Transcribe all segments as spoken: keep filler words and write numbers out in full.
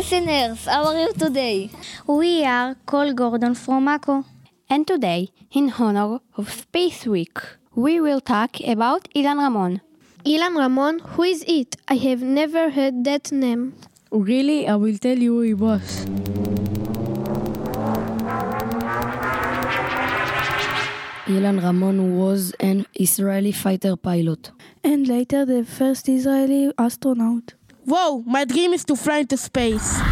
listeners, how are you today? We are Cole Gordon from Mako. And today, in honor of Space Week, we will talk about Ilan Ramon. Ilan Ramon, who is it? I have never heard that name. Really, I will tell you who he was. Ilan Ramon was an Israeli fighter pilot. And later the first Israeli astronaut. Whoa, my dream is to fly into space.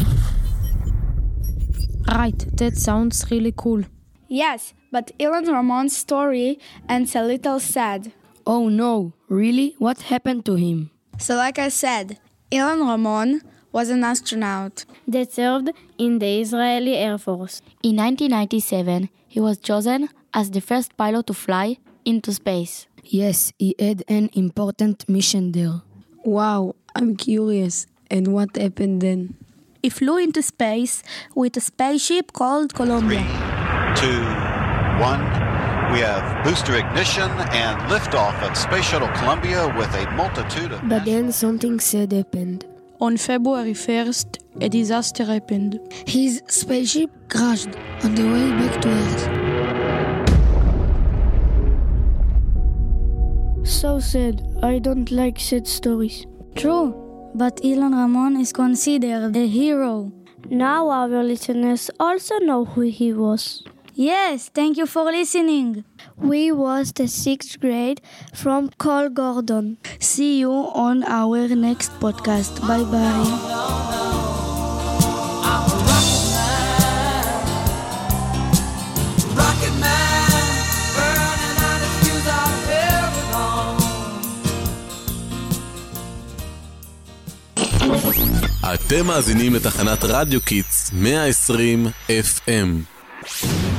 Right, that sounds really cool. Yes, but Ilan Ramon's story ends a little sad. Oh no, really? What happened to him? So like I said, Ilan Ramon was an astronaut that served in the Israeli Air Force. In nineteen ninety-seven, he was chosen as the first pilot to fly into space. Yes, he had an important mission there. Wow, I'm curious. And what happened then? He flew into space with a spaceship called Columbia. Three, two, one. We have booster ignition and liftoff of Space Shuttle Columbia with a multitude of... But then something sad happened. On February first, a disaster happened. His spaceship crashed on the way back to Earth. So sad. I don't like sad stories. True, but Ilan Ramon is considered a hero. Now our listeners also know who he was. Yes, thank you for listening. We was the sixth grade from Cole Gordon. See you on our next podcast. Bye-bye. אתם מאזינים לתחנת רדיו קיטס מאה ועשרים אף אם.